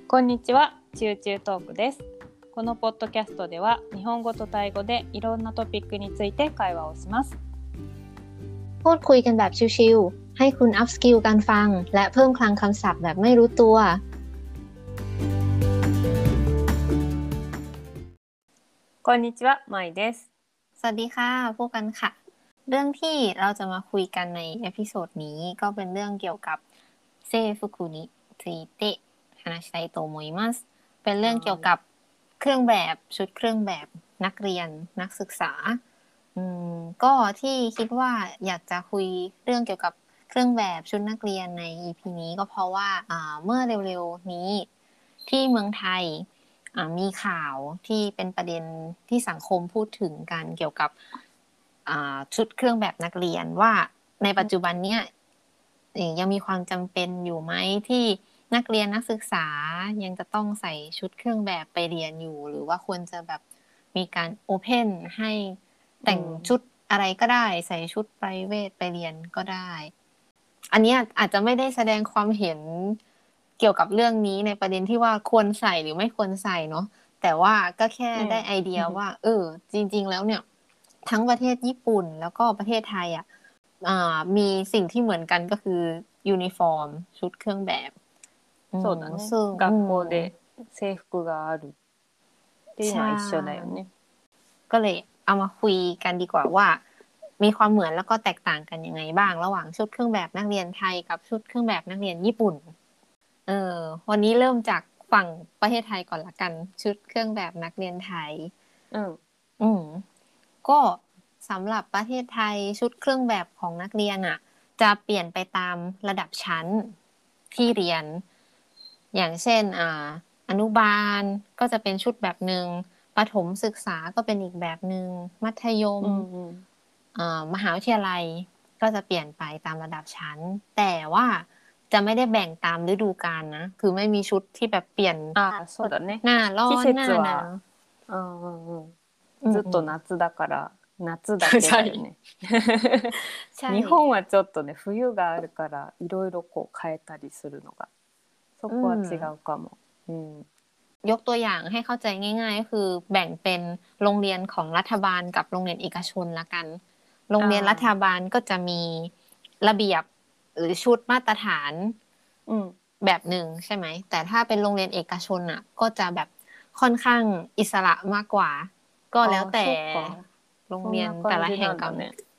こんにちは、チューチュートークです。このポッドキャストでは日本語とタイ語でいろんなトピックについて会話をします。 พูดคุยกันแบบชิลๆให้คุณอัพสกิลการฟังและเพิ่มคลังคำศัพท์แบบไม่รู้ตัว。 こんにちは、まいです。 สวัสดีค่ะพวกกันค่ะเรื่องที่เราจะมาคุยกันในเอพิโซดนี้ก็เป็นเรื่องเกี่ยวกับเซฟุกุนิついて話したいと思いますเป็นเรื่องเกี่ยวกับเครื่องแบบชุดเครื่องแบบนักเรียนนักศึกษาก็ที่คิดว่าอยากจะคุยเรื่องเกี่ยวกับเครื่องแบบชุดนักเรียนใน EP นี้ก็เพราะว่าเมื่อเร็วๆนี้ที่เมืองไทยมีข่าวที่เป็นประเด็นที่สังคมพูดถึงกันเกี่ยวกับชุดเครื่องแบบนักเรียนว่าในปัจจุบันเนี้ยยังมีความจำเป็นอยู่ไหมที่นักเรียนนักศึกษายังจะต้องใส่ชุดเครื่องแบบไปเรียนอยู่หรือว่าควรจะแบบมีการโอเพนให้แต่งชุดอะไรก็ได้ใส่ชุดไพรเวทไปเรียนก็ได้อันนี้อาจจะไม่ได้แสดงความเห็นเกี่ยวกับเรื่องนี้ในประเด็นที่ว่าควรใส่หรือไม่ควรใส่เนาะแต่ว่าก็แค่ได้ไอเดียว่าจริงๆแล้วเนี่ยทั้งประเทศญี่ปุ่นแล้วก็ประเทศไทยมีสิ่งที่เหมือนกันก็คือยูนิฟอร์มชุดเครื่องแบบそうだね。学校で制服があるっていうのは一緒だよね。 ก็เลยเอามาคุยกันดีกว่าว่ามีความเหมือนแล้วก็แตกต่างกันยังไงบ้างระหว่างชุดเครื่องแบบนักเรียนไทยกับชุดเครื่องแบบนักเรียนญี่ปุ่นวันนี้เริ่มจากฝั่งประเทศไทยก่อนละกันชุดเครื่องแบบนักเรียนไทยก็สำหรับประเทศไทยชุดเครื่องแบบของนักเรียนจะเปลี่ยนไปตามระดับชั้นที่เรียนอย่างเช่นอนุบาลก็จะเป็นชุดแบบนึงประถมศึกษาก็เป็นอีกแบบนึงมัธยมมหาวิทยาลัยก็จะเปลี่ยนไปตามระดับชั้นแต่ว่าจะไม่ได้แบ่งตามฤดูกาลนะคือไม่มีชุดที่แบบเปลี่ยนหน้าร้อนหน้าหนาวずっと夏だから夏だけだよね。日本はちょっとね冬があるからいろいろこう変えたりするのがそこは違うかも。 ยกตัวอย่างให้เข้าใจง่ายๆก็คือแบ่งเป็นโรงเรียนของรัฐบาลกับโรงเรียนเอกชนละกันโรงเรียนรัฐบาลก็จะมีระเบียบหรือชุดมาตรฐานแบบหนึ่งใช่ไหมแต่ถ้าเป็นโรงเรียนเอกชนก็จะแบบค่อนข้างอิสระมากกว่าก็แล้วแต่โรงเรียนแต่ละแห่งกัน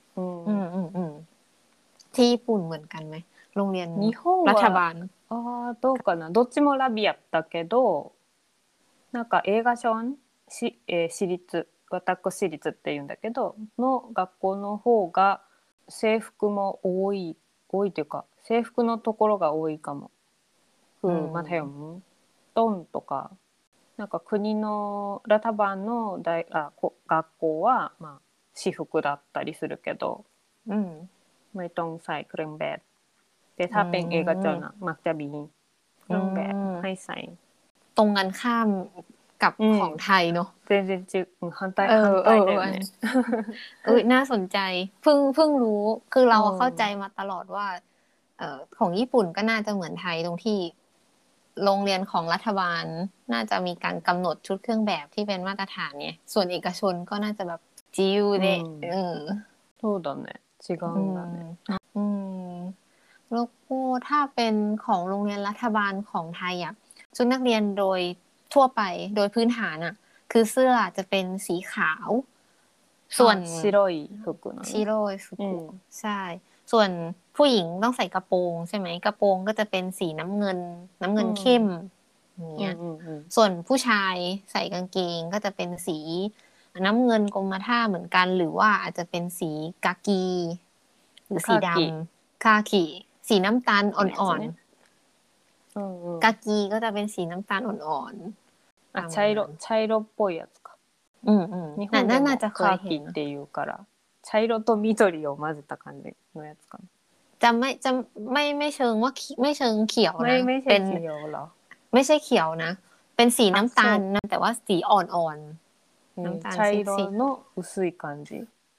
ที่ญี่ปุ่นเหมือนกันไหมโรงเรียนรัฐบาลどうかなどっちもラビアだけどなんか映画賞私立私立っていうんだけどの学校の方が制服も多いというか制服のところが多いかも。マテヨンドンとかなんか国のラタバンの学校はまあ私服だったりするけどไม่ต้องใส่เครื่องแบบแต่ถ้าเป็นเอกชนมักจะมีเครื่องแบบให้ใส่ตรงกันข้ามกับของไทยเนาะ全然違う反対だよねน่าสนใจเพิ่งรู้คือเราเข้าใจมาตลอดว่าของญี่ปุ่นก็น่าจะเหมือนไทยตรงที่โรงเรียนของรัฐบาลน่าจะมีการกำหนดชุดเครื่องแบบที่เป็นมาตรฐานเนี่ยส่วนเอกชนก็น่าจะแบบจิวเดそうだね違うんだねแล้วก็ถ้าเป็นของโรงเรียนรัฐบาลของไทยชุดนักเรียนโดยทั่วไปโดยพื้นฐานคือเสื้อจะเป็นสีขาวส่วน白い服นะ白い服ใช่ส่วนผู้หญิงต้องใส่กระโปรงใช่ไหมกระโปรงก็จะเป็นสีน้ำเงินเข้มอย่างเงี้ยส่วนผู้ชายใส่กางเกงก็จะเป็นสีน้ำเงินกรมท่าเหมือนกันหรือว่าอาจจะเป็นสีกากีหรือสีดำคากิสีน้ำตาลอ่อนๆกากีก็จะเป็นสีน้ำตาลอ่อนๆ茶色っぽいやつか日本でもカーキっていうから茶色と緑を混ぜた感じのやつかなจะไม่เชิงว่าไม่เชิงเขียวนะเป็นเขียวเหรอไม่ใช่เขียวนะเป็นสีน้ำตาลนะแต่ว่าสีอ่อนๆน้ำตาล茶色の薄い感じ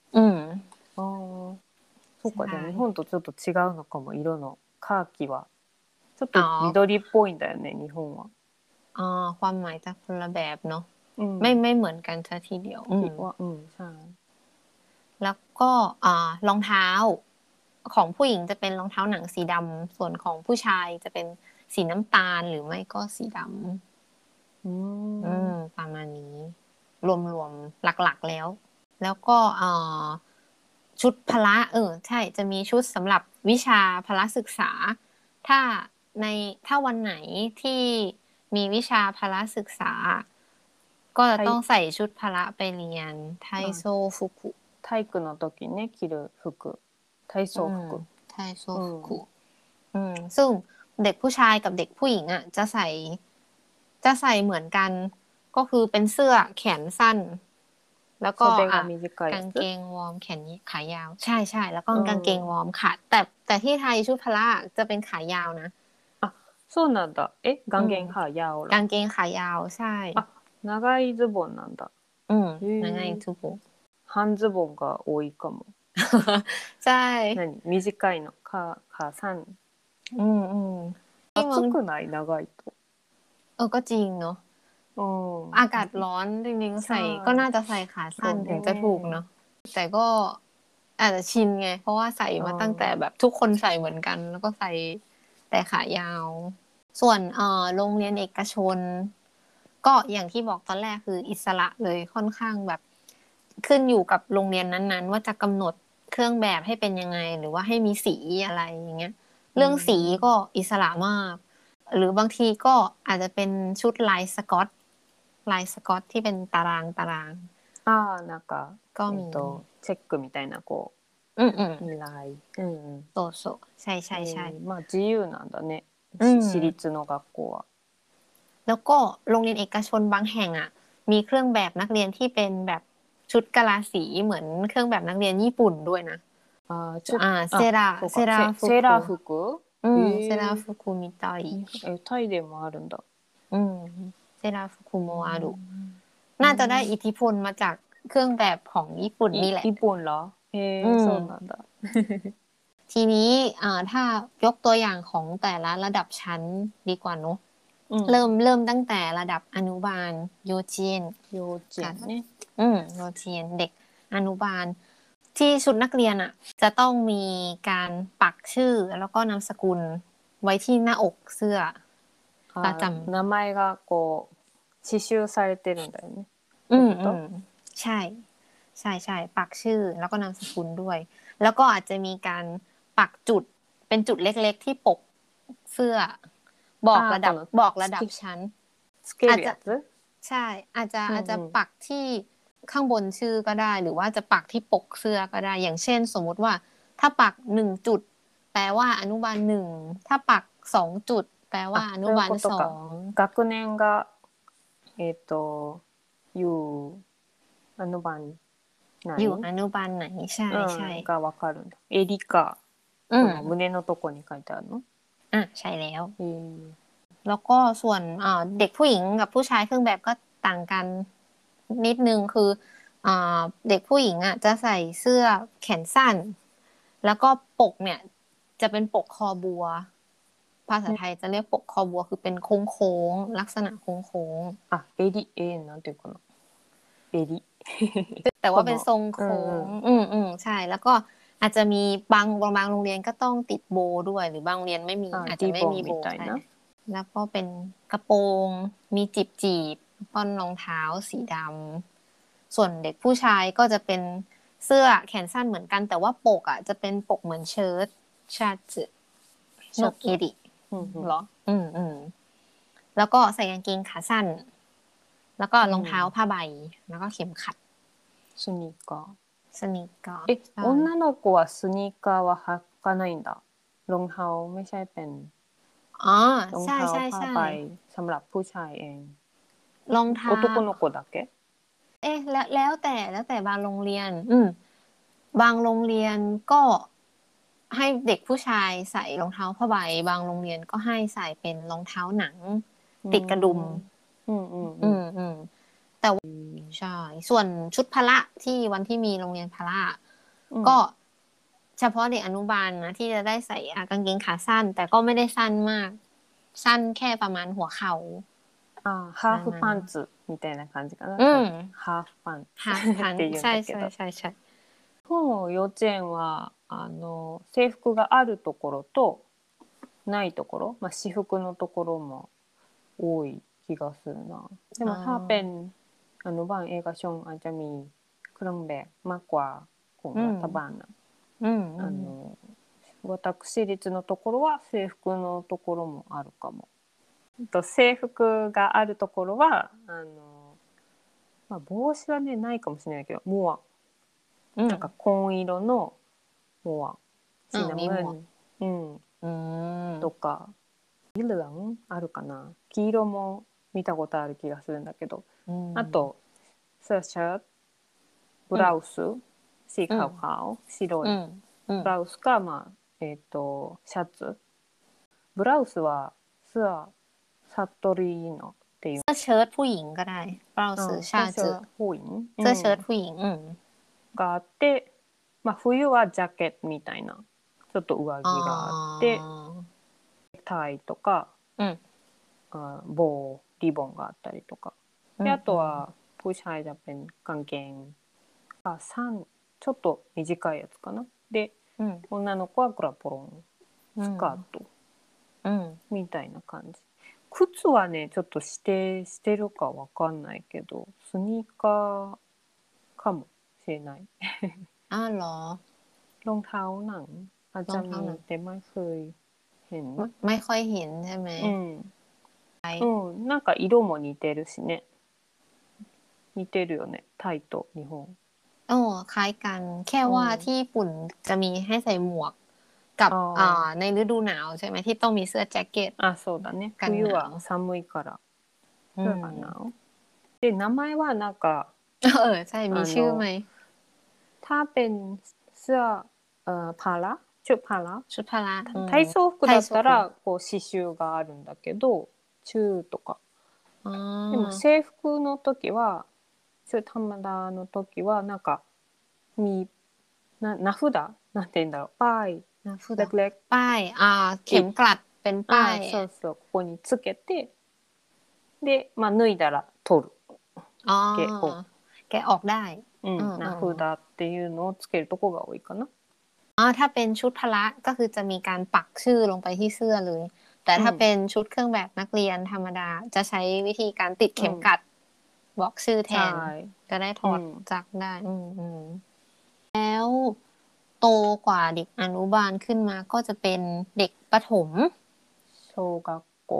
そうかじゃあ日本とちょっと違うのかも色のカーキはちょっと緑っぽいんだよね日本はความหมายจะคนละแบบเนาะอืมไม่เหมือนกันซะทีเดียวคิดว่าใช่แล้วก็รองเท้าของผู้หญิงจะเป็นรองเท้าหนังสีดำส่วนของผู้ชายจะเป็นสีน้ำตาลหรือไม่ก็สีดำประมาณนี้ รวมหลักๆแล้วก็ชุดพละใช่จะมีชุดสำหรับวิชาพละศึกษา ถ้าวันไหนที่มีวิชาพละศึกษา ก็จะต้องใส่ชุดพละไปเรียนไทโซฟุกุ体育の時ね着る服体操服ไทโซฟุกุซึ่งเด็กผู้ชายกับเด็กผู้หญิงอ่ะจะใส่เหมือนกัน ก็คือเป็นเสื้อแขนสั้น แล้วก็กางเกงวอร์มแขนขายาวใช่แล้วก็กางเกงวอร์มค่ะแต่ที่ไทยชุดพละจะเป็นขายาวนะそうなんだกางเกงขายาวกางเกงขายาวใช่長いズボンなんだ長いズボン半ズボンが多いかもใช่短いのขาสั้น暑くない長いとก็จริงเนาะอากาศร้อนจริงๆใส่ก็น่าจะใส่ขาสั้นถึงจะถูกเนาะแต่ก็อาจจะชินไงเพราะว่าใส่มาตั้งแต่แบบทุกคนใส่เหมือนกันแล้วก็ใส่แต่ขายาวส่วนโรงเรียนเอกชนก็อย่างที่บอกตอนแรกคืออิสระเลยค่อนข้างแบบขึ้นอยู่กับโรงเรียนนั้นๆว่าจะกำหนดเครื่องแบบให้เป็นยังไงหรือว่าให้มีสีอะไรอย่างเงี้ยเรื่องสีก็อิสระมากหรือบางทีก็อาจจะเป็นชุดลายสก๊อตที่เป็นตารางなんかก็มีチェックみたいなこうลายโซใช่まあ自由なんだね私立の学校はแล้วก็โรงเรียนเอกชนบางแห่งอ่ะมีเครื่องแบบนักเรียนที่เป็นแบบชุดกะลาสีเหมือนเครื่องแบบนักเรียนญี่ปุ่นด้วยนะเซราฟุกุเซราฟุกุみたいタイでもあるんだเซราฟุกุโมอารุน่าจะได้อิทธิพลมาจากเครื่องแบบของญี่ปุ่นนี่แหละญี่ปุ่นเหรอそうなんだทีนี้ถ้ายกตัวอย่างของแต่ละระดับชั้นดีกว่าเนอะเริ่มตั้งแต่ระดับอนุบาลโยเจียนเนี่ยโยเจียนเด็กอนุบาลที่ชุดนักเรียนอ่ะจะต้องมีการปักชื่อแล้วก็นามสกุลไว้ที่หน้าอกเสื้อประจำ名前がこう刺繍されてるんだよねใช่ปักชื่อแล้วก็นามสกุลด้วยแล้วก็อาจจะมีการปักจุดเป็นจุดเล็กๆที่ปกเสื้อบอกระดับชั้นอาจจะใช่อาจจะปักที่ข้างบนชื่อก็ได้หรือว่าจะปักที่ปกเสื้อก็ได้อย่างเช่นสมมุติว่าถ้าปัก1จุดแปลว่าอนุบาล1ถ้าปัก2จุดแปลว่าอนุบาล2 学年がอยู่อนุบาลไหนอยู่อนุบาลไหนใช่がわかるんだ襟か胸のとこに書いてあるのใช่แล้วก็ส่วนเด็กผู้หญิงกับผู้ชายเครื่องแบบก็ต่างกันนิดนึงคือเด็กผู้หญิงอ่ะจะใส่เสื้อแขนสั้นแล้วก็ปกเนี่ยจะเป็นปกคอบัวภาษาไทยจะเรียกปกคอบัวคือเป็นโค้งๆลักษณะโค้งなんていうかな襟แต่ว่าเป็นทรงโค้งใช่แล้วก็อาจจะมีบางโรงเรียนก็ต้องติดโบด้วยหรือบางโรงเรียนไม่มีอาจจะไม่มีโบใช่แล้วก็เป็นกระโปรงมีจีบป้อนรองเท้าสีดำส่วนเด็กผู้ชายก็จะเป็นเสื้อแขนสั้นเหมือนกันแต่ว่าปกอ่ะจะเป็นปกเหมือนเชิ้ตชาสึโชเกริเหรอแล้วก็ใส่กางเกงขาสั้นแล้วก็รองเท้าผ้าใบแล้วก็เข็มขัดスニーカー女の子はスニーカーは履かないんだรองเท้าไม่ใช่เป็นรองเท้าผ้าใบสำหรับผู้ชายเองรองเท้า男の子だけแล้วแต่บางโรงเรียนบางโรงเรียนก็ให้เด็กผู้ชายใส่รองเท้าผ้าใบบางโรงเรียนก็ให้ใส่เป็นรองเท้าหนังติดกระดุมแต่ใช่ส่วนชุดพละที่วันที่มีโรงเรียนพละก็เฉพาะเด็กอนุบาลนะที่จะได้ใส่กางเกงขาสั้นแต่ก็ไม่ได้สั้นมากสั้นแค่ประมาณหัวเข่าハーフパンツみたいな感じかな。ハーフパンツハーフパンって言うんใช่だけど。 ใช่ใช่日本の幼稚園は制服があるところとないところ、私服のところも多い気がするな。でもถ้าเป็นอนุบาลเอกชนอาจจะมีเครื่องแบบมากกว่าของรัฐบาลนะ私立のところは制服のところもあるかも。制服があるところは帽子はねないかもしれないけどモアなんか紺色のモアシナムーンとか黄色あるかな。黄色も見たことある気がするんだけど、あとスーシャツブラウスสีขาว白いブラウスかシャツブラウスはスアサトリーノっていうเสื้อเชิ้ตผู้หญิงก็ได้บラウスシャツผู้หญิงเสื้อเชิ้ตผู้หญิงがあって、冬はジャケットみたいなちょっと上着があってタイとか、リボンがあったりとかであとはผู้ชายจะเป็นกางเกงちょっと短いやつかなで、女の子はグラポロンスカート、みたいな感じ。靴はねちょっと指定してるかわかんないけどスニーカーかもしれないอ้าวเหรอรองเท้าหนังอาจจะมีแต่ไม่เคยเห็นไม่ค่อยเห็นใช่ไหมなんか色も似てるしね似てるよねタイと日本คล้ายกันแค่ว่าที่ญี่ปุ่นจะมีให้ใส่หมวกกับในฤดูหนาวใช่ไหมที่ต้องมีเสื้อแจ็คเก็ตそうだね冬は寒いからเสื้อกันหนาวで名前はなんかใช่มีชื่อไหมถ้าเป็นเสื้อพาราชุดพารา体操服だったらこう刺繍があるんだけど中とかでも制服の時は中ธรรมดาの時はなんかมี名札なんて言うんだろうป้ายเล็กๆป้ายเข็มกลัดเป็นป้ายそうここにつけてで脱いだら取るแกะออกได้名札っていうのをつけるとこが多いかなถ้าเป็นชุดพละก็คือจะมีการปักชื่อลงไปที่เสื้อเลยแต่ถ้าเป็นชุดเครื่องแบบนักเรียนธรรมดาจะใช้วิธีการติดเข็มกลัดบอกชื่อแทนจะได้ถอดจักได้แล้วโตกว่าเด็กอนุบาลขึ้นมาก็จะเป็นเด็กประถม小学校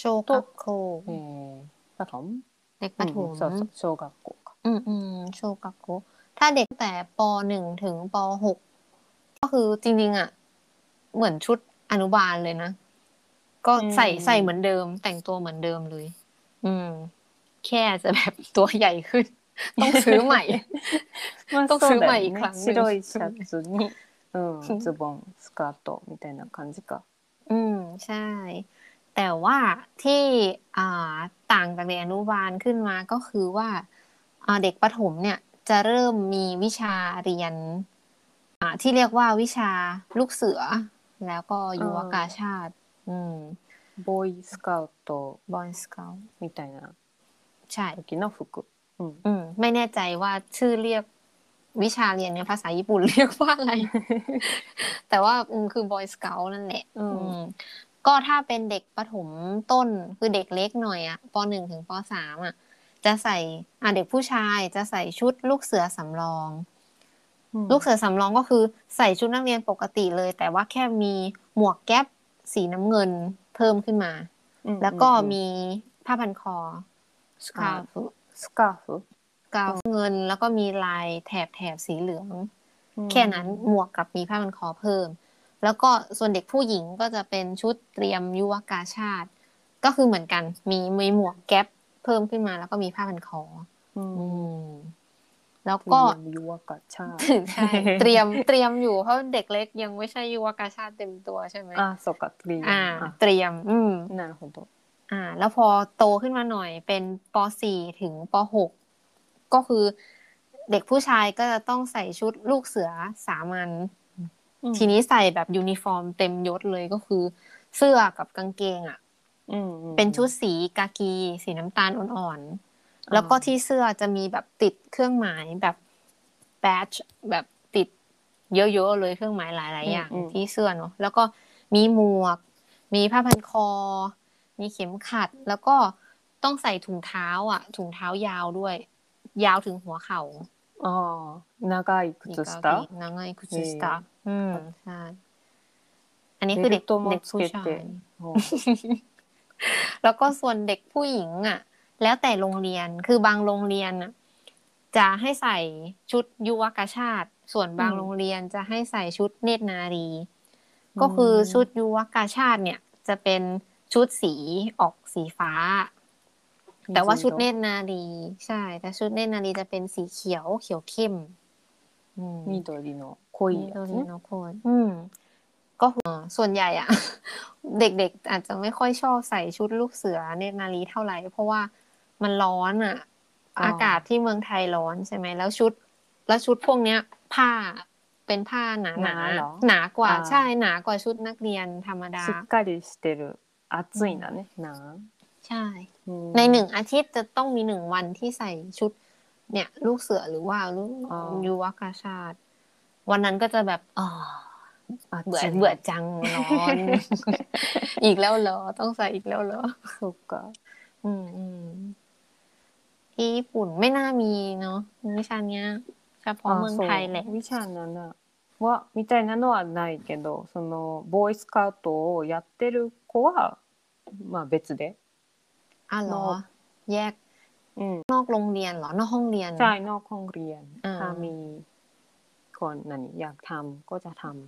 ประถมเด็กประถม小学校かโชกักโกถ้าเด็กแต่ป.1 ถึงป.6 ก็คือจริงๆเหมือนชุดอนุบาลเลยนะก็ใส่เหมือนเดิมแต่งตัวเหมือนเดิมเลยแค่จะแบบตัวใหญ่ขึ้นต้องซื้อใหม่ต้องซื้อใหม่อีกครั้งนึง白いシャツにズボンスカートみたいな感じかใช่แต่ว่าที่ต่างจากเด็กอนุบาลขึ้นมาก็คือว่าเด็กประถมเนี่ยจะเริ่มมีวิชาเรียนที่เรียกว่าวิชาลูกเสือแล้วก็ยุวกาชาติボーイスカウトみたいなใช่時の服ไม่แน่ใจว่าชื่อเรียกวิชาเรียนในภาษาญี่ปุ่นเรียกว่าอะไร แต่ว่าคือบอยสเกาต์นั่นแหละก็ถ้าเป็นเด็กประถมต้นคือเด็กเล็กหน่อยป.1 ถึงป.3 จะใส่เด็กผู้ชายจะใส่ชุดลูกเสือสำรองลูกเสือสำรองก็คือใส่ชุดนักเรียนปกติเลยแต่ว่าแค่มีหมวกแก๊ปสีน้ำเงินเพิ่มขึ้นมาแล้วก็มีผ้าพันคอสคาร์ฟกาวเงินแล้วก็มีลายแถบสีเหลืองแค่นั้นหมวกกับมีผ้าพันคอเพิ่มแล้วก็ส่วนเด็กผู้หญิงก็จะเป็นชุดเตรียมยุวกาชาติก็คือเหมือนกันมีหมวกแก๊ปเพิ่มขึ้นมาแล้วก็มีผ้าพันคอแล้วก็ยุวกาชาติใช่เตรียมอยู่เพราะเด็กเล็กยังไม่ใช่ยุวกาชาติเต็มตัวใช่ไหมそうかเตรียมなるほどแล้วพอโตขึ้นมาหน่อยเป็นป.4 ถึงป.6 ก็คือเด็กผู้ชายก็จะต้องใส่ชุดลูกเสือสามัญทีนี้ใส่แบบยูนิฟอร์มเต็มยศเลยก็คือเสื้อกับกางเกงเป็นชุดสีกากีสีน้ำตาลอ่อนๆแล้วก็ที่เสื้อจะมีแบบติดเครื่องหมายแบบแบดจ์แบบติดเยอะๆเลยเครื่องหมายหลายๆอย่างที่เสื้อเนาะแล้วก็มีหมวกมีผ้าพันคอมีเข็มขัดแล้วก็ต้องใส่ถุงเท้าถุงเท้ายาวด้วยยาวถึงหัวเข่า長い靴下長い靴下ใช่อันนี้คือเด็กผู้ชายแล้วก็ส่วนเด็กผู้หญิงแล้วแต่โรงเรียนคือบางโรงเรียนจะให้ใส่ชุดยุวกชาติส่วนบางโรงเรียนจะให้ใส่ชุดเนตรนารีก็คือชุดยุวกชาติเนี่ยจะเป็นชุดสีออกสีฟ้าแต่ว่าชุดเนตรนารีใช่แต่ชุดเนตรนารีจะเป็นสีเขียวเข้ม緑の濃いやつねก็ส่วนใหญ่เด็กๆอาจจะไม่ค่อยชอบใส่ชุดลูกเสือเนตรนารีเท่าไหร่เพราะว่ามันร้อนอากาศที่เมืองไทยร้อนใช่ไหมแล้วชุดพวกเนี้ยผ้าเป็นผ้าหนากว่าใช่หนากว่าชุดนักเรียนธรรมดาしっかりしてる暑いんだねใช่ใน1 อาทิตย์จะต้องมี1 วันที่ใส่ชุดเนี่ยลูกเสือหรือว่าลูกยุวกชาติวันนั้นก็จะแบบเบื่อจังร้อนอีกแล้วเหรอต้องใส่อีกแล้วเหรอそっかที่ญี่ปุ่นไม่น่ามีเนาะวิชาเนี้ยเฉพาะเมืองไทยแหละวิชานั้นはみたいなのはないけどそのボーイスカウトをやってる子はまあ別でเหรอแยกนอกโรงเรียนเหรอนอกห้องเรียนใช่นอกห้องเรียนถ้ามีคนอยากทำก็จะทำ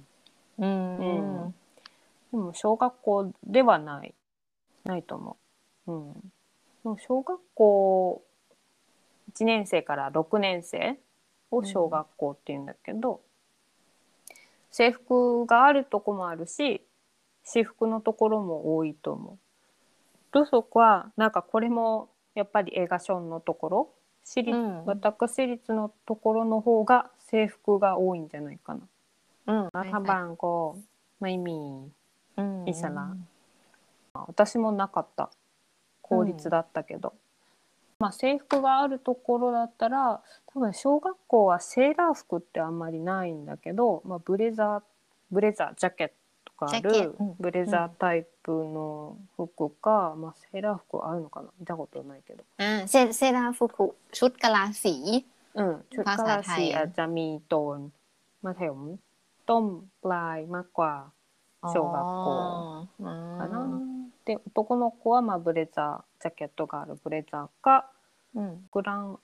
でも小学校ではないと思う。でも小学校1年生から6年生を小学校っていうんだけど、制服があるとこもあるし私服のところも多いと思う。ルソクはなんかこれもやっぱり映画ションのところ私立のところの方が制服が多いんじゃないかな。รัฐบาลก็ไม่มีอิสระ私もなかった公立だったけど、まあ制服があるところだったら多分小学校はセーラー服ってあんまりないんだけど、まあ、ブレザージャケットがあるブレザータイプの服か、まあ、セーラー服あるのかな見たことないけどเซราฟุกุชุดกะลาสีชุดกะลาสีอาจจะมีโทนมัธยมต้นปลายมากกว่า小学校かな。で男の子はまあブレザージャケットがあるブレザーかグラン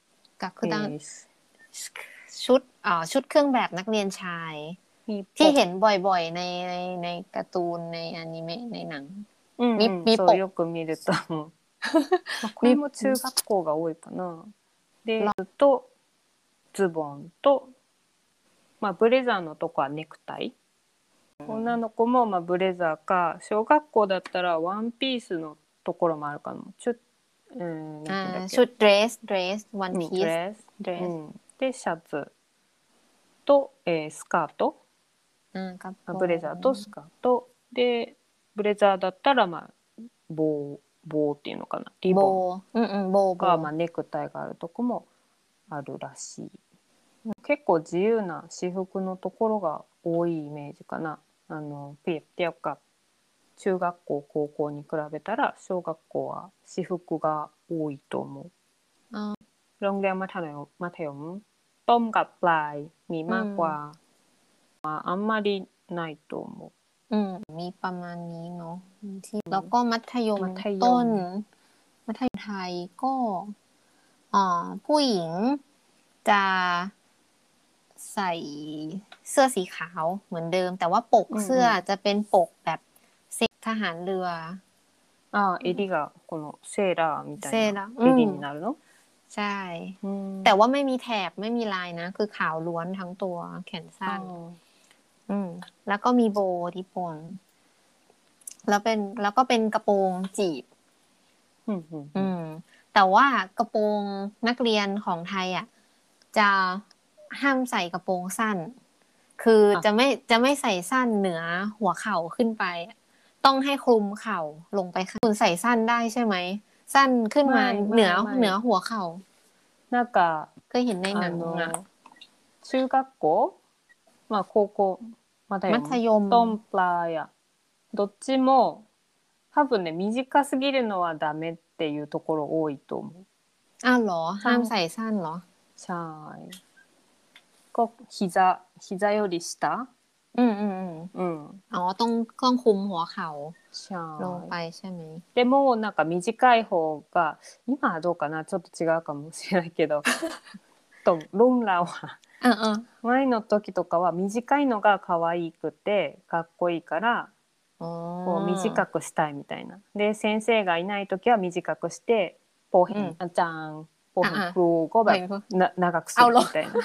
ชุดเครื่องแบบนักเรียนชายที่เห็นบ่อยๆในการ์ตูนในอนิเมะในหนังมีそうよく見ると思うこれも中学校が多いかな。でとズボンと、まあ、ブレザーのとこはネクタイ女の子もまあブレザーか小学校だったらワンピースのところもあるかもชุดเดรスワンピースでシャツと、スカートブレザーとスカートでブレザーだったらまあ棒っていうのかなリボンがまあネクタイがあるとこもあるらしい。結構自由な私服のところが多いイメージかな。เปรียบเทียบกับ中学校高校に比べたら小学校は私服が多いと思う。โรงเรียนมัธยมต้นกับปลายมีมากกว่าあんまりないと思う。มีประมาณนี้เนาะที่แล้วก็มัธยมต้นมัธยมไทยก็ผู้หญิงจะใส่เสื้อสีขาวเหมือนเดิมแต่ว่าปกเสื้อจะเป็นปกแบบทหารเรือ襟がこのセーラーみたいな襟になるのใช่แต่ว่าไม่มีแถบไม่มีลายนะคือขาวล้วนทั้งตัวแขนสั้นแล้วก็มีโบที่ปนแล้วก็เป็นกระโปรงจีบแต่ว่ากระโปรงนักเรียนของไทยจะห้ามใส่กระโปรงสั้นคือจะไม่ใส่สั้นเหนือหัวเข่าขึ้นไปต้องให้คลุมเข่าลงไปค่ะคุณใส่สั้นได้ใช่ไหมสั้นขึ้นมาเหนือหัวเข่าなんかเคยเห็นในหนังอ่ะ中学校まあ高校まだよมัธยมトンプラやどっちも多分ね短すぎるのはダメっていうところ多いと思うอ้าวเหรอห้ามใส่สั้นเหรอใช่ก็膝より下อ๋อต้องคุมหัวเข่าใช่ลงไปใช่ไหมでもなんか短い方が今はどうかなちょっと違うかもしれないけどとロンラは前の時とかは短いのが可愛くてかっこいいからこう短くしたいみたいなで先生がいない時は短くしてポーヘン、あちゃんポーヘンครูก็แบบ長くするみたいな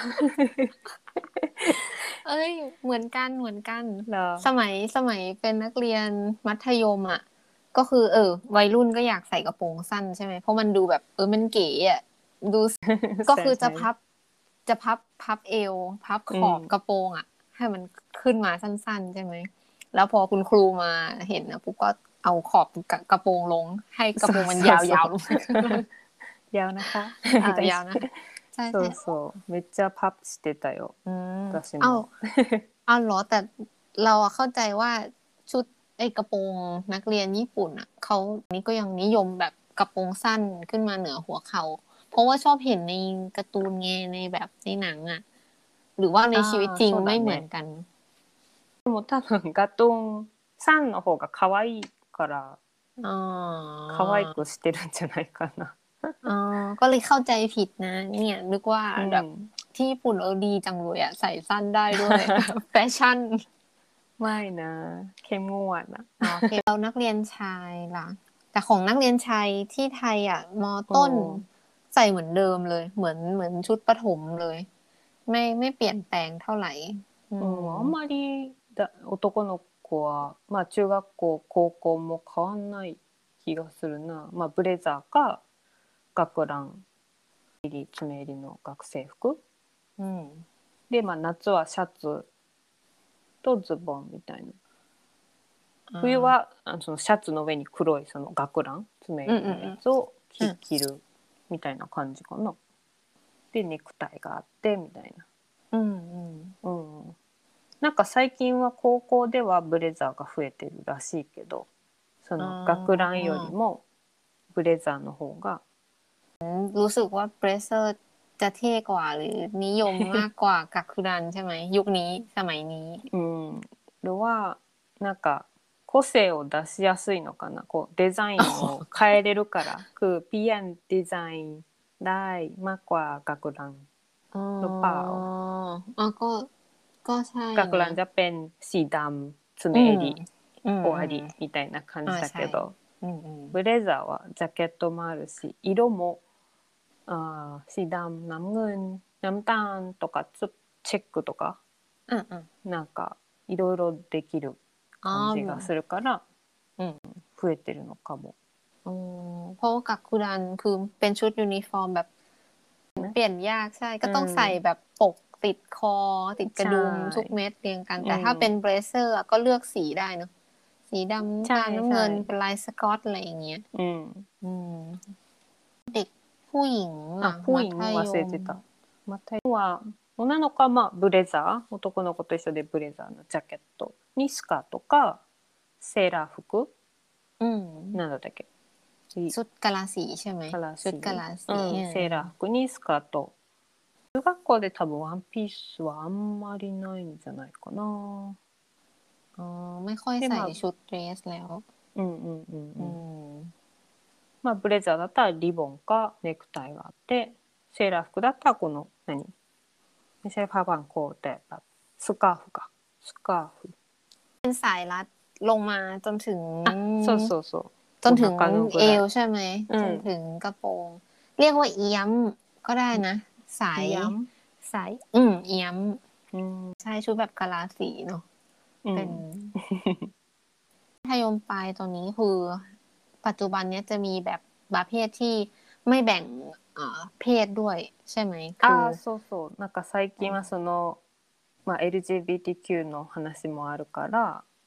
เอ้ยเหมือนกันสมัยเป็นนักเรียนมัธยมอ่ะก็คือวัยรุ่นก็อยากใส่กระโปรงสั้นใช่ไหมเพราะมันดูแบบมันเก๋อ่ะดูก็คือจะพับเอวพับขอบกระโปรงอ่ะให้มันขึ้นมาสั้นๆใช่ไหมแล้วพอคุณครูมาเห็นนะปุ๊บก็เอาขอบกระโปรงลงให้กระโปรงมันยาวๆลงยาวนะคะยาวนะそうそうめっちゃパッしてたよ私もเอาเหรอแต่เราเข้าใจว่าชุดกระโปรงนักเรียนญี่ปุ่นอ่ะเขานี่ก็ยังนิยมแบบกระโปรงสั้นขึ้นมาเหนือหัวเข่าเพราะว่าชอบเห็นในการ์ตูนไงในแบบในหนังอ่ะหรือว่าในชีวิตจริงไม่เหมือนกันでも多分ガトンさんの方が可愛いから可愛くしてるんじゃないかなอ๋อก็เลยเข้าใจผิดนะเนี่ยนึกว่าแบบที่ญี่ปุ่นดีจังเลยอ่ะใส่สั้นได้ด้วยแฟชั่นไม่นะเข้มงวดนะโอเคเรานักเรียนชายล่ะแต่ของนักเรียนชายที่ไทยอ่ะม.ต้นใส่เหมือนเดิมเลยเหมือนชุดประถมเลยไม่เปลี่ยนแปลงเท่าไหร่あんまり男の子はまあ中学校高校も変わんない気がするなまあブレザーか学ラン爪襟の学生服でまあ夏はシャツとズボンみたいな冬はそのシャツの上に黒いその学ラン爪襟のやつを着るみたいな感じかなでネクタイがあってみたいななんか最近は高校ではブレザーが増えてるらしいけどその学ランよりもブレザーの方がรู้สึกว่าเบรเซอร์จะเท่กว่าหรือนิยมมากกว่ากักคุรันใช่ไหมยุคนี้สมัยนี้หรือว่าなんか個性を出しやすいのかなこうデザインを変えれるからคือเปลี่ยนดีไซน์ได้มากกว่ากักคุรันหรือเปล่าก็ใช่กักคุรันจะเป็นสีดำ爪襟終わりみたいな感じだけどブレザーはジャケットもあるし色もสีดำน้ำเงินน้ำตาลとかチェックとかなんかいろいろできる感じがするから増えてるのかもเพราะว่ากักคุรันคือเป็นชุดยูนิฟอร์มแบบเปลี่ยนยากใช่ก็ต้องใส่แบบปกติดคอติดกระดุมทุกเม็ดเรียงกันแต่ถ้าเป็นเบรเซอร์ก็เลือกสีได้เนาะสีดำตาลน้ำเงินเป็นลายสก๊อตอะไรอย่างเงี้ยเด็กผู้หญิงผู้หญิง忘れてたมัธยมは女の子はまあブレザー男の子と一緒でブレザーのジャケットにスカートかセーラー服なんだったっけชุดกะลาสีใช่ไหมชุดกะลาสีセーラー服にスカート中学校で多分ワンピースはあんまりないんじゃないかなไม่ค่อยใส่ชุดเดรสแล้วまあブレザーだったらリボンかネクタイがあってセーラー服だったらこのไม่ใช่ผ้าพันคอแต่แบบสカーフかสカーフเป็นสายรัดลงมาจนถึงそうจนถึงเอวใช่ไหมจนถึงกระโปรงเรียกว่าเอี้ยมก็ได้นะสายเอี้ยมใช่ชุดแบบกะลาสีเนาะเป็นมัธยมปลายตอนนี้คือปัจจุบันนี้จะมีแบบประเภทที่ไม่แบ่งเพศด้วยใช่ไหมそうなんか最近はそのまあ LGBTQ の話もあるから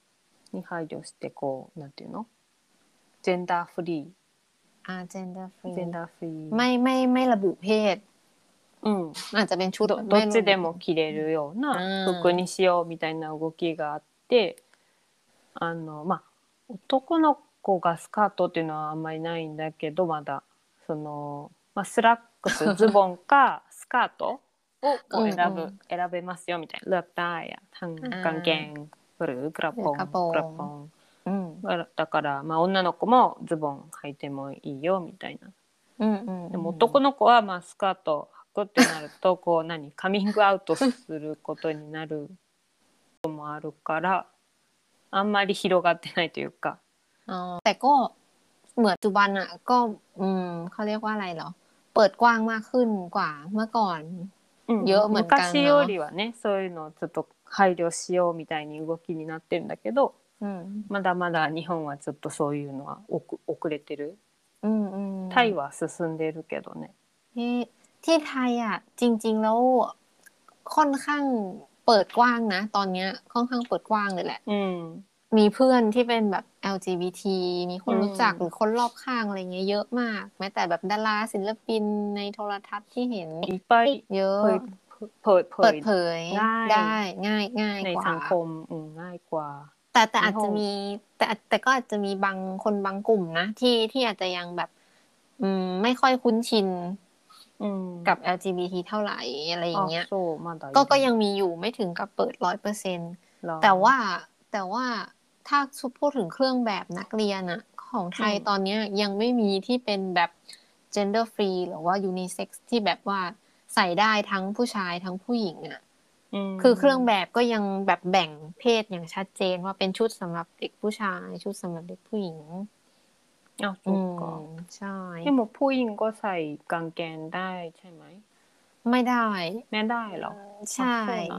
に配慮してこうなんていうのジェンダーフリー gender ジェ free ンダーフリーไม่ระบุเพศอาจจะเป็นชุดどっちでも着れるような服にしようみたいな動きがあってまあ男の子がスカートっていうのはあんまりないんだけどまだその、まあ、スラックスズボンかスカートをこう選べますよみたいなเลือกได้ทั้งกางเกงหรือกระโปรงだからまあ女の子もズボン履いてもいいよみたいな。でも男の子はまあスカート履くってなるとこうカミングアウトすることになることもあるからあんまり広がってないというかแต่ก็เหมือนปัจจุบันอ่ะก็เขาเรียกว่าอะไรเหรอเปิดกว้างมากขึ้นกว่าเมื่อก่อนเยอะเหมือนกัน昔よりはねそういうのをちょっと配慮しようみたいに動きになってるんだけどまだまだ日本はちょっとそういうのは遅れてるタイは進んでるけどねที่ไทยอ่ะจริงๆแล้วค่อนข้างเปิดกว้างนะตอนนี้ค่อนข้างเปิดกว้างเลยแหละมีเพื่อนที่เป็นแบบ LGBT มีคนรู้จักหรือคนรอบข้างอะไรเงี้ยเยอะมากแม้แต่แบบดาราศิลปินในโทรทัศน์ที่เห็นเยอะเปิดเผยได้ง่ายในกว่าสังคมง่ายกว่าแต่อาจจะมีแต่ก็อาจจะมีบางคนบางกลุ่มนะที่อาจจะยังแบบไม่ค่อยคุ้นชินกับ LGBT เท่าไหร่อะไรอย่างเงี้ยก็ยังมีอยู่ไม่ถึงกับเปิด 100% แต่ว่าถ้าพูดถึงเครื่องแบบนักเรียนอะของไทยตอนนี้ยังไม่มีที่เป็นแบบ gender free หรือว่า unisex ที่แบบว่าใส่ได้ทั้งผู้ชายทั้งผู้หญิงอะคือเครื่องแบบก็ยังแบบแบ่งเพศอย่างชัดเจนว่าเป็นชุดสำหรับเด็กผู้ชายชุดสำหรับเด็กผู้หญิงใช่でもผู้หญิงก็ใส่กางเกงได้ใช่ไหมไม่ได้เหรอใช่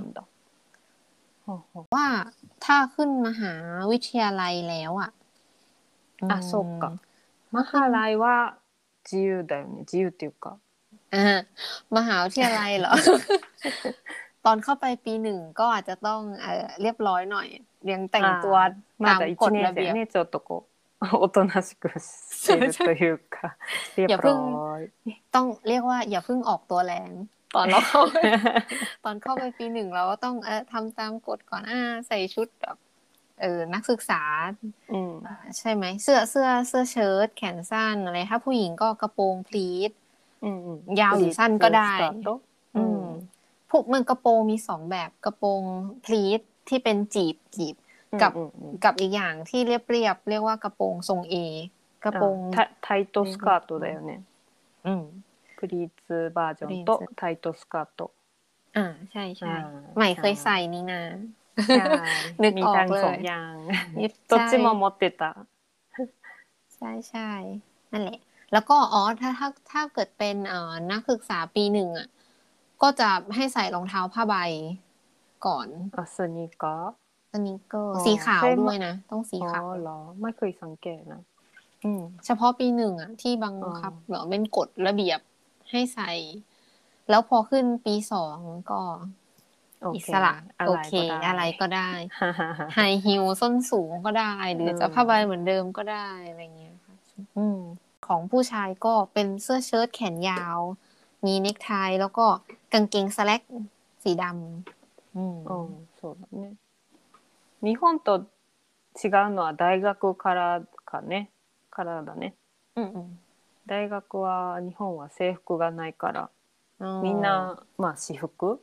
ว่าถ้าขึ้นมหาวิทยาลัยแล้วอ่ะそうかมหาลัยは自由だよね自由っていうかมหาวิทยาลัยเหรอ ตอนเข้าไปปีหนึ่งก็อาจจะต้องเรียบร้อยหน่อยยังแต่งตัวตามกฎระเบียบちょっとこうおとなしくしてるというかเรียบร้อยต้องเรียกว่าอย่าเพิ่งออกตัวแรงตอนเราตอนเข้าไปปีหนึ่งเราก็ต้องทำตามกฎก่อนใส่ชุดแบบนักศึกษาใช่ไหมเสื้อเชิ้ตแขนสั้นอะไรถ้าผู้หญิงก็กระโปรงพลีทยาวหรือสั้นก็ได้พวกมันกระโปรงมี2แบบกระโปรงพลีทที่เป็นจีบกับอีกอย่างที่เรียบเรียกว่ากระโปรงทรง A กระโปรงタイトスカートだよねプリーツバージョンとタイトスカートใช่ใหม่เคยใส่นี่นะนึกออกเลยどっちも持ってたใช่นั่นแหละแล้วก็ถ้าเกิดเป็นนักศึกษาปีหนึ่งอ่ะก็จะให้ใส่รองเท้าผ้าใบก่อนสนิเกอร์สีขาวด้วยนะต้องสีขาวเหรอไม่เคยสังเกตนะเฉพาะปีหนึ่งอ่ะที่บังคับเหรอเป็นกฎระเบียบให้ใส่แล้วพอขึ้นปี2ก็อิสระโอเคอะไรก็ได้ไฮฮิลส้นสูงก็ได้หรือจะผ้าใบเหมือนเดิมก็ได้อะไรเงี้ยค่ะของผู้ชายก็เป็นเสื้อเชิ้ตแขนยาวมีเนคไทแล้วก็กางเกงสแล็กสีดำそうだね日本と違うのは大学からだね大学は日本は制服がないからみんなまあ私服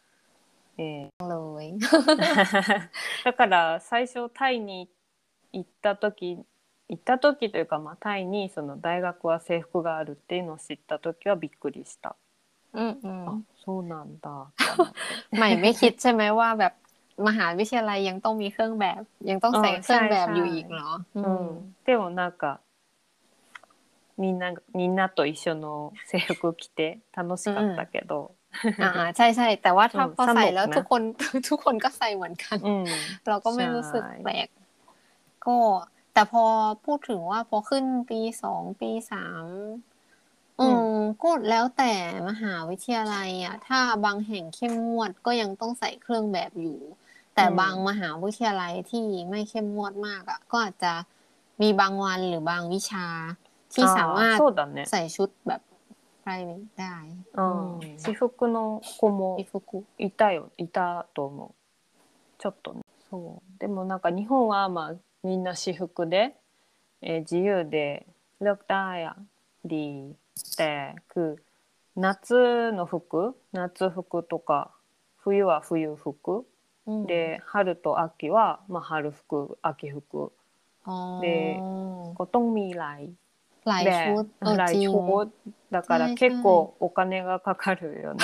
だから最初タイに行った時というか、まあ、タイにその大学は制服があるっていうのを知った時はびっくりしたそうなんだไม่คิดใช่ไหมว่าแบบมหาวิทยาลัยยังต้องมีเครื่องแบบยังต้องใส่เครื่องแบบอยู่อีกเหรอでもなんかみんなと一緒の制服着て楽しかったけどใช่แต่ว่าถ้าพอใส่แล้วทุกคนก็ใส่เหมือนกันเราก็ไม่รู้สึกแปลกก็แต่พอพูดถึงว่าพอขึ้นปี2ปี3ก็แล้วแต่มหาวิทยาลัยอ่ะถ้าบางแห่งเข้มงวดก็ยังต้องใส่เครื่องแบบอยู่แต่บางมหาวิทยาลัยที่ไม่เข้มงวดมากอ่ะก็อาจจะมีบางวันหรือบางวิชาที่สามารถそうだねใส่ชุดแบบ private ได้私服の子もいたと思うちょっとねそうでもなんか日本はまあみんな私服で、自由でเลือกได้อะดีแต่คือ夏の服夏服とか冬は冬服で春と秋は、まあ、春服秋服でก็ต้องมีหลายชุดหลายจริงชุดだから結構お金がかかるよね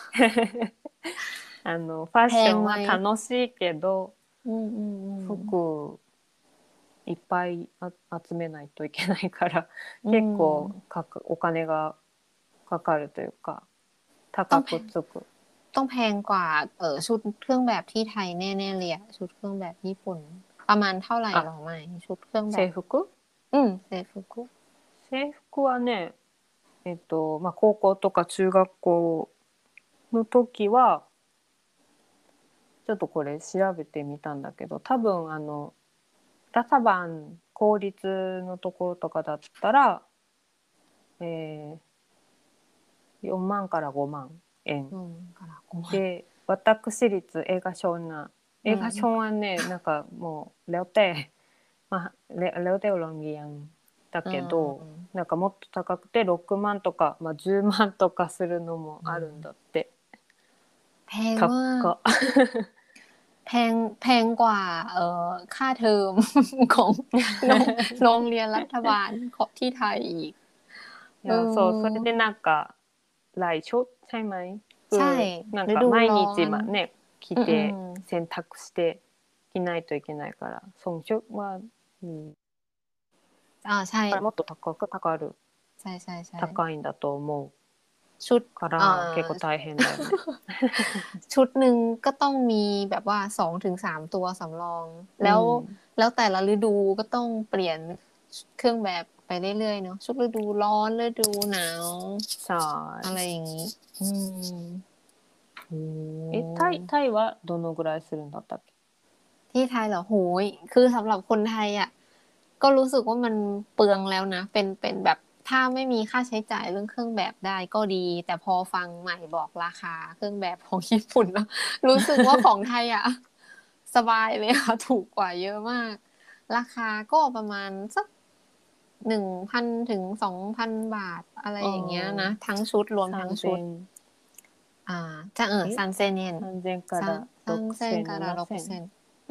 ファッションは楽しいけど服いっぱい集めないといけないから結構お金がかかるというか高くつくต้องแพงกว่าชุดเครื่องแบบที่ไทยแน่ๆเลยอะชุดเครื่องแบบญี่ปุ่นประมาณเท่าไหร่หรอไม่ชุดเครื่องแบบ制服制服はねまあ、高校とか中学校の時はちょっとこれ調べてみたんだけど多分ラサバン公立のところとかだったら、4万から5万円で私立映画賞はねなんかもうแล้วแต่まあแล้วแต่โรงเรียนだけどなんかもっと高くて6万とか、まあ、10万とかするのもあるんだって。 แพงมากแพงกว่าค่าเทอมของโรงเรียนรัฐบาลที่ไทยอีกそうそれでなんか来初ใช่ไหมใช่なんか毎日ね着て洗濯して着ないといけないからそのชุดはใช่もっと高くかかるใช่高いんだと思うชุดから結構大変だよねชุดหนึ่งก็ต้องมีแบบว่า2-3ตัวสำรองแล้วแต่ละฤดูก็ต้องเปลี่ยนเครื่องแบบไปเรื่อยๆเนาะชุดฤดูร้อนฤดูหนาวใช่อะไรอย่างนี้タイはどのぐらいするんだったっけที่ไทยเหรอโหยคือสำหรับคนไทยอ่ะก็รู้สึกว่ามันเปลืองแล้วนะเป็นแบบถ้าไม่มีค่าใช้จ่ายเรื่องเครื่องแบบได้ก็ดีแต่พอฟังใหม่บอกราคาเครื่องแบบของญี่ปุ่นแล้วรู้สึกว่าของไทยอ่ะสบายเลยค่ะถูกกว่าเยอะมากราคาก็ประมาณสัก1,000 ถึง 2,000 บาทอะไรอย่างเงี้ยนะทั้งชุดรวมทั้งชุดじゃあ3000円 3000から 6000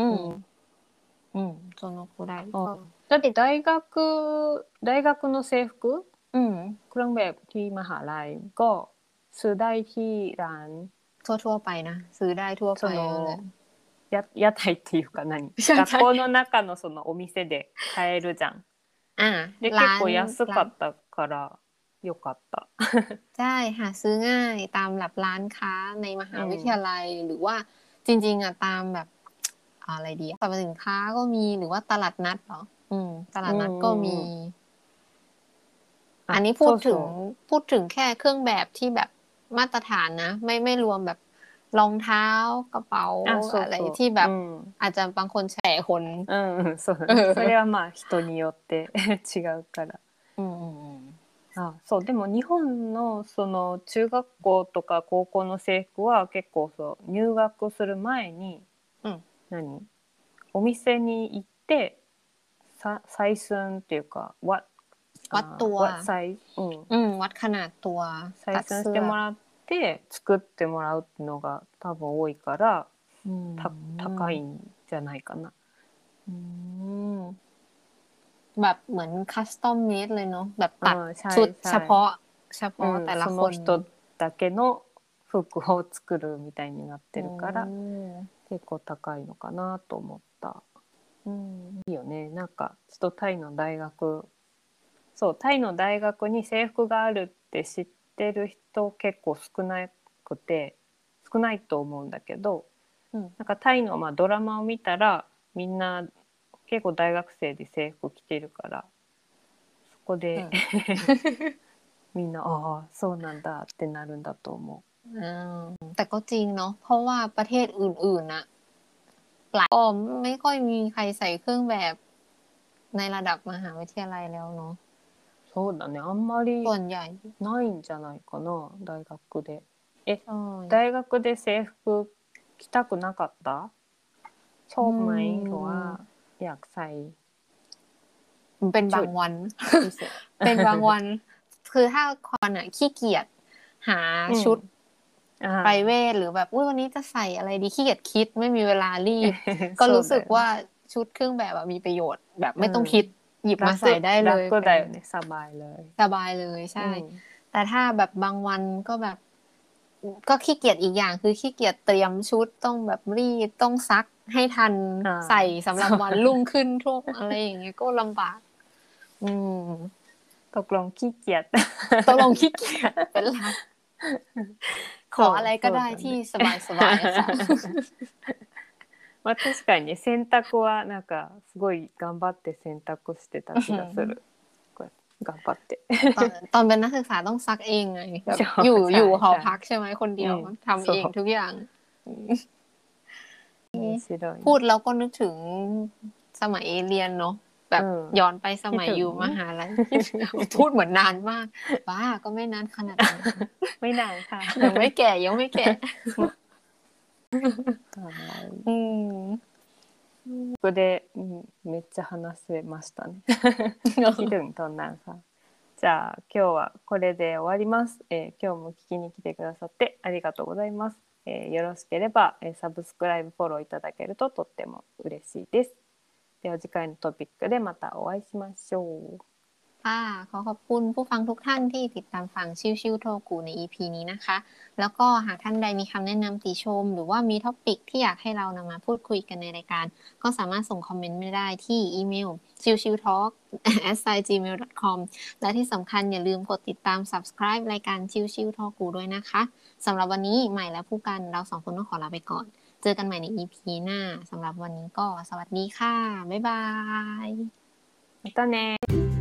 そのくらいだって大学の制服เครื่องแบบที่มหาลัยก็ซื้อได้ที่ร้านทั่วไปนะซื้อได้ทั่วไป屋台っていうか学校の中のそのお店で買えるじゃんで結構安かったからよかったใช่หาซื้อง่ายตามแบบร้านค้าในมหาวิทยาลัยหรือว่าจริงๆอ่ะตามแบบอะไรดีสรรพสินค้าก็มีหรือว่าตลาดนัดเหรอตลาดนัดก็มีอันนี้พูดถึงแค่เครื่องแบบที่แบบมาตรฐานนะไม่รวมแบบรองเท้ากระเป๋าอะไรที่แบบอาจจะบางคนแฉคนそれはまあ人によって違うからそうでも日本のその中学校とか高校の制服は結構そう入学する前に、お店に行って採寸っていうかวัดตัววัดขนาดตัว採寸してもらって作ってもらうっていうのが多分多いから高いんじゃないかな。 แบบเหมือนคัสตอมเมดเลยเนาะแบบตัดชุดเฉพาะแต่ละคนその人だけの服を作るみたいになってるから結構高いのかなと思った。いいよね。なんかちょっとタイの大学に制服があるって知ってる人結構少ないと思うんだけど、なんかタイのドラマを見たらみんな結構大学生で制服着てるからそこで、みんなああそうなんだってなるんだと思う。 แต่ก็จริงเนาะเพราะว่าประเทศอื่นๆนะหลายก็ไม่ค่อยมีใครใส่เครื่องแบบในระดับมหาวิทยาลัยแล้วเนาะそうだね、あんまりส่วนใหญ่ないんじゃないかな、大学で。 ใช่大学で制服着たくなかったชอบไหมหรือว่าอยากใส่เป็นบางวันพิเศษเป็นบางวัน คือถ้าคอนอ่ะขี้เกียจหาชุดไพรเวทหรือแบบวันนี้จะใส่อะไรดีขี้เกียจคิดไม่มีเวลารีบ ก็รู้สึกว่าชุดเครื่องแบบมีประโยชน์แบบไม่ต้องคิดหยิบมาใส่ได้เลย楽だよね、สบายเลยสบายเลยใช่ แต่ถ้าแบบบางวันก็แบบก็ขี้เกียจอีกอย่างคือขี้เกียจเตรียมชุดต้องแบบรีดต้องซักให้ทันใส่สำหรับวันรุ่งขึ้นทุกอะไรอย่างเงี้ยก็ลำบากตกลงขี้เกียจขี้เกียจเป็นหลักขออะไรก็ได้ที่สบายๆค่ะまあ確かに洗濯はなんかすごい頑張って洗濯してた気がする頑張ってตอนเป็นนักศึกษาต้องซักเองไงแบบอยู่หอพักใช่ไหมคนเดียวทำเองทุกอย่างพูดแล้วก็นึกถึงสมัยเรียนเนาะแบบย้อนไปสมัยอยู่มหาลัยพูดเหมือนนานมากบ้าก็ไม่นานขนาดนั้นไม่นานค่ะยังไม่แก่ここでめっちゃ話せましたねคิดถึงตอนนั้นค่ะじゃあ今日はこれで終わります、今日も聞きに来てくださってありがとうございます、よろしければ、サブスクライブフォローいただけるととっても嬉しいですでは次回のトピックでまたお会いしましょうค่ะขอบคุณผู้ฟังทุกท่านที่ติดตามฟังชิวๆโทกูใน EP นี้นะคะแล้วก็หากท่านใดมีคำแนะนำติชมหรือว่ามีท็อปิกที่อยากให้เรานำมาพูดคุยกันในรายการก็สามารถส่งคอมเมนต์มาได้ที่อีเมล chillchilltalk@gmail.com และที่สำคัญอย่าลืมกดติดตาม subscribe รายการชิวๆโทกูด้วยนะคะสำหรับวันนี้ใหม่และผู้กันเราสองคนต้องขอลาไปก่อนเจอกันใหม่ใน EP หน้าสำหรับวันนี้ก็สวัสดีค่ะบ๊ายบายまたね